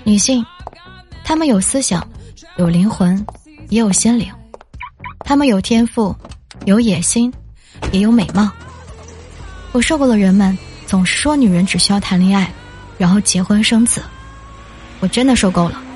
女性，她们有思想，有灵魂，也有心灵。她们有天赋，有野心，也有美貌。我受够了人们总是说女人只需要谈恋爱，然后结婚生子。我真的受够了。